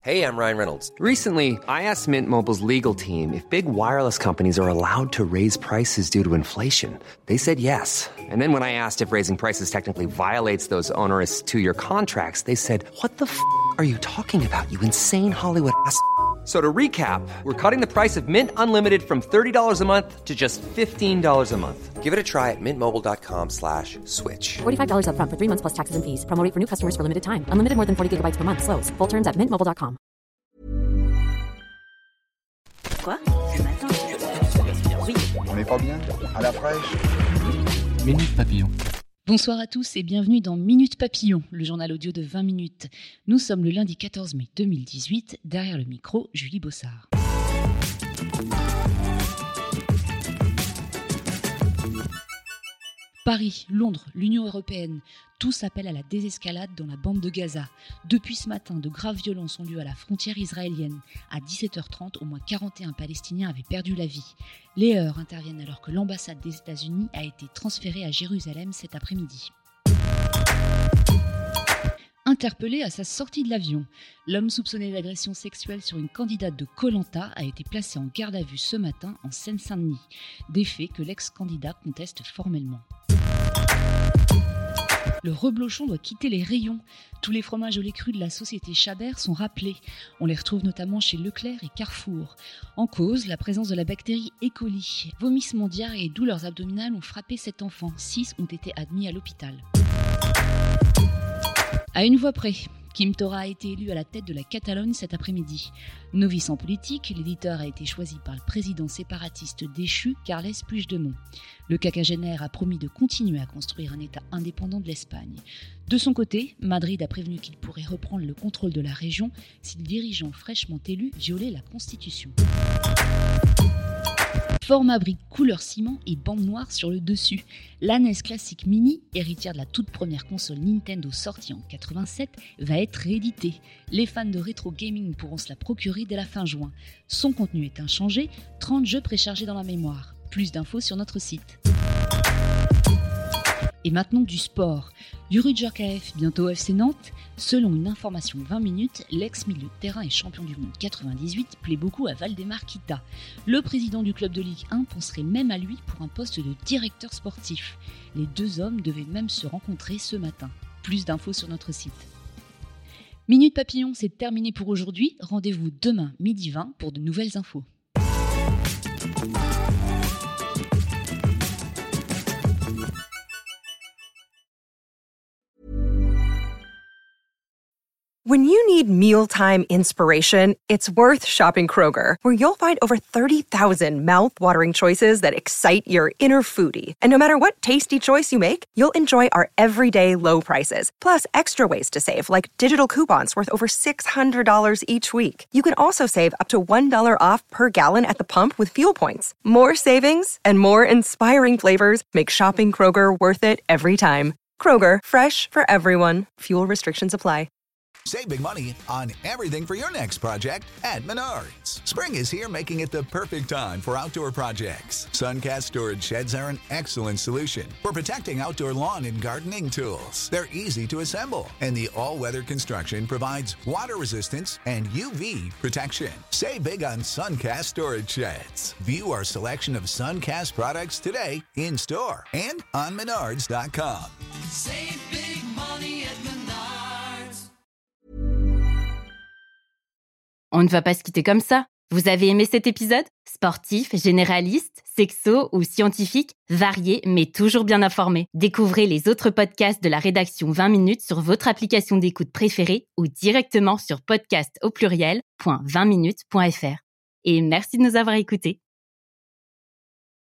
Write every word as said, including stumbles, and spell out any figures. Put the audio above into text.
Hey, I'm Ryan Reynolds. Recently, I asked Mint Mobile's legal team if big wireless companies are allowed to raise prices due to inflation. They said yes. And then when I asked if raising prices technically violates those onerous two-year contracts, they said, what the f*** are you talking about, you insane Hollywood ass f- So to recap, we're cutting the price of Mint Unlimited from thirty dollars a month to just fifteen dollars a month. Give it a try at mintmobile.com slash switch. forty-five dollars up front for three months plus taxes and fees. Promo rate for new customers for limited time. Unlimited more than forty gigabytes per month. Slows full terms at mint mobile dot com. Quoi? Ce matin, oui. On n'est pas bien? À la fraîche? Minute Papillon. Bonsoir à tous et bienvenue dans Minute Papillon, le journal audio de vingt minutes. Nous sommes le lundi quatorze mai deux mille dix-huit, derrière le micro, Julie Bossard. Paris, Londres, l'Union européenne, tous appellent à la désescalade dans la bande de Gaza. Depuis ce matin, de graves violences ont lieu à la frontière israélienne. À dix-sept heures trente, au moins quarante et un Palestiniens avaient perdu la vie. Les heurts interviennent alors que l'ambassade des États-Unis a été transférée à Jérusalem cet après-midi. Interpellé à sa sortie de l'avion, l'homme soupçonné d'agression sexuelle sur une candidate de Koh Lanta a été placé en garde à vue ce matin en Seine-Saint-Denis. Des faits que l'ex-candidat conteste formellement. Le reblochon doit quitter les rayons. Tous les fromages au lait cru de la société Chabert sont rappelés. On les retrouve notamment chez Leclerc et Carrefour. En cause, la présence de la bactérie E. coli. Vomissements, diarrhée et douleurs abdominales ont frappé cet enfant. Six ont été admis à l'hôpital. À une voix près, Quim Torra a été élu à la tête de la Catalogne cet après-midi. Novice en politique, l'éditeur a été choisi par le président séparatiste déchu Carles Puigdemont. Le quinquagénaire a promis de continuer à construire un État indépendant de l'Espagne. De son côté, Madrid a prévenu qu'il pourrait reprendre le contrôle de la région si le dirigeant fraîchement élu violait la Constitution. Format brique couleur ciment et bande noire sur le dessus. La N E S Classic Mini, héritière de la toute première console Nintendo sortie en quatre-vingt-sept, va être rééditée. Les fans de rétro gaming pourront se la procurer dès la fin juin. Son contenu est inchangé, trente jeux préchargés dans la mémoire. Plus d'infos sur notre site. Et maintenant du sport. Yuri Djorkaeff, bientôt F C Nantes. Selon une information vingt minutes, l'ex-milieu de terrain et champion du monde quatre-vingt-dix-huit plaît beaucoup à Valdemar Kita. Le président du club de Ligue un penserait même à lui pour un poste de directeur sportif. Les deux hommes devaient même se rencontrer ce matin. Plus d'infos sur notre site. Minute Papillon, c'est terminé pour aujourd'hui. Rendez-vous demain midi vingt pour de nouvelles infos. When you need mealtime inspiration, it's worth shopping Kroger, where you'll find over thirty thousand mouth-watering choices that excite your inner foodie. And no matter what tasty choice you make, you'll enjoy our everyday low prices, plus extra ways to save, like digital coupons worth over six hundred dollars each week. You can also save up to one dollar off per gallon at the pump with fuel points. More savings and more inspiring flavors make shopping Kroger worth it every time. Kroger, fresh for everyone. Fuel restrictions apply. Save big money on everything for your next project at Menards. Spring is here, making it the perfect time for outdoor projects. Suncast storage sheds are an excellent solution for protecting outdoor lawn and gardening tools. They're easy to assemble, and the all-weather construction provides water resistance and U V protection. Save big on Suncast storage sheds. View our selection of Suncast products today in-store and on menards dot com. Save big money at Menards. On ne va pas se quitter comme ça. Vous avez aimé cet épisode ? Sportif, généraliste, sexo ou scientifique, varié mais toujours bien informé. Découvrez les autres podcasts de la rédaction vingt minutes sur votre application d'écoute préférée ou directement sur podcast au pluriel point vingt minutes point f r. Et merci de nous avoir écoutés.